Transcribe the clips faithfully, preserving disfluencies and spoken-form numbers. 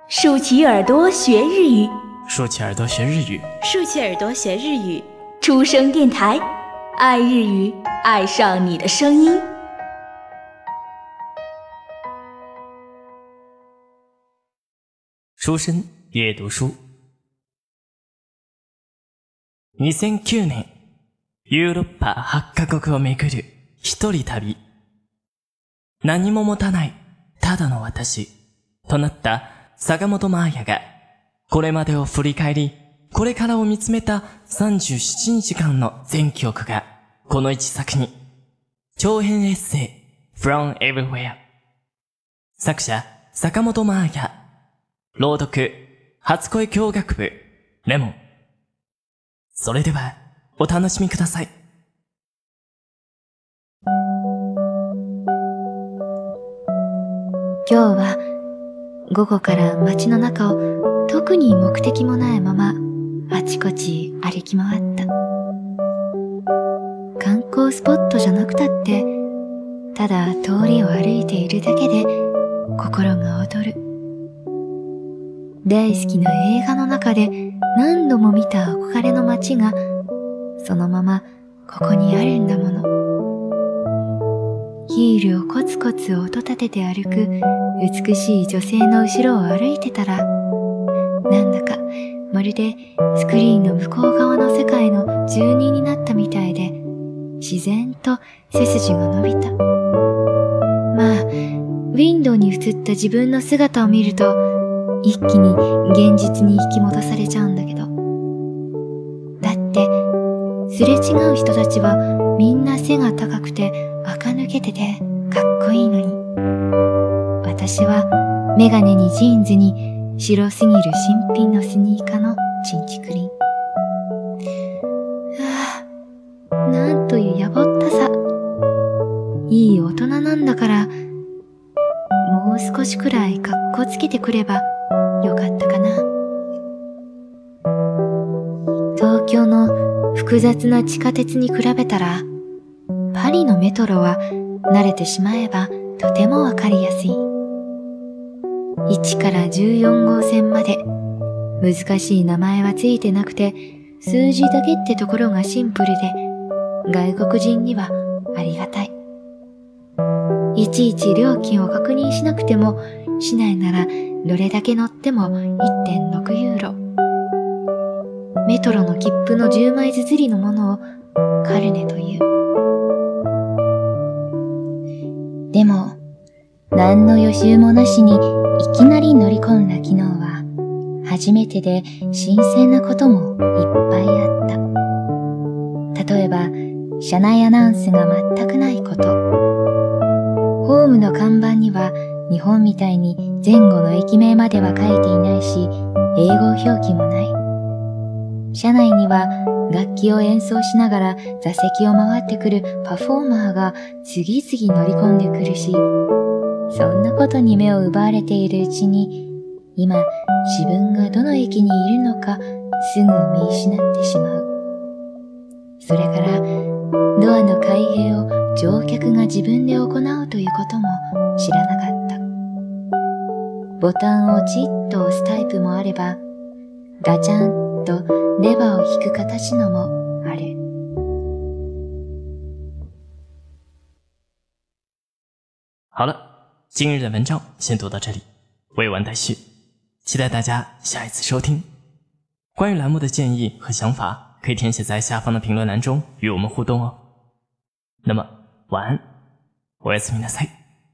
竖起耳朵学日语， 竖起耳朵学日语， 竖起耳朵学日语。 出生电台，爱日语，爱上你的声音。 书生阅读书。にせんきゅうねん、ヨーロッパはちカ国を巡る一人旅。何も持たない、ただの私、となった坂本真綾が、これまでを振り返り、これからを見つめたさんじゅうななにちかんの全記憶が、この一作に。長編エッセイ、From Everywhere。作者、坂本真綾。朗読、初恋教学部、レモン。それでは、お楽しみください。 今日は午後から街の中を特に目的もないままあちこち歩き回った。観光スポットじゃなくたって、ただ通りを歩いているだけで心が躍る。大好きな映画の中で何度も見た憧れの街がそのままここにあるんだもの。ヒールをコツコツ音立てて歩く美しい女性の後ろを歩いてたら、なんだかまるでスクリーンの向こう側の世界の住人になったみたいで、自然と背筋が伸びた。まあ、ウィンドウに映った自分の姿を見ると、一気に現実に引き戻されちゃうんだけど。だって、すれ違う人たちはみんな背が高くて垢抜けててかっこいいのに。私はメガネにジーンズに白すぎる新品のスニーカーのチンチクリン。はあ、なんというやぼったさ。いい大人なんだから、もう少しくらいかっこつけてくればよかったかな。東京の複雑な地下鉄に比べたら、パリのメトロは慣れてしまえばとてもわかりやすい。いちからじゅうよんごうせんまで難しい名前はついてなくて、数字だけってところがシンプルで、外国人にはありがたい。いちいち料金を確認しなくても、市内ならどれだけ乗っても いってんろく ユーロ。メトロの切符のじゅうまい綴りのものをカルネという。でも、何の予習もなしにいきなり乗り込んだ昨日は、初めてで新鮮なこともいっぱいあった。例えば、車内アナウンスが全くないこと。ホームの看板には日本みたいに前後の駅名までは書いていないし、英語表記もない。車内には楽器を演奏しながら座席を回ってくるパフォーマーが次々乗り込んでくるし、そんなことに目を奪われているうちに、今自分がどの駅にいるのかすぐ見失ってしまう。それからドアの開閉を乗客が自分で行うということも知らなかった。ボタンをチッと押すタイプもあれば、ガチャンとレバーを引く形のもある。 好了，今日的文章先读到这里，未完待续，期待大家下一次收听。关于栏目的建议和想法，可以填写在下方的评论栏中与我们互动哦。那么晚安，おやすみなさい。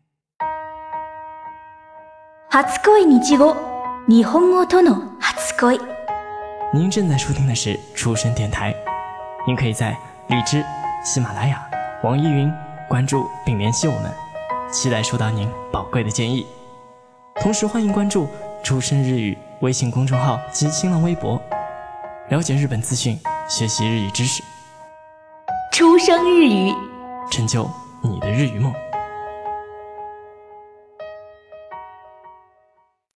初恋日語、日本語との初恋。 您正在收听的是出生电台，您可以在荔枝、喜马拉雅、网易云关注并联系我们，期待收到您宝贵的建议。同时欢迎关注出生日语微信公众号及新浪微博，了解日本资讯，学习日语知识， 出生日语， 成就你的日语梦。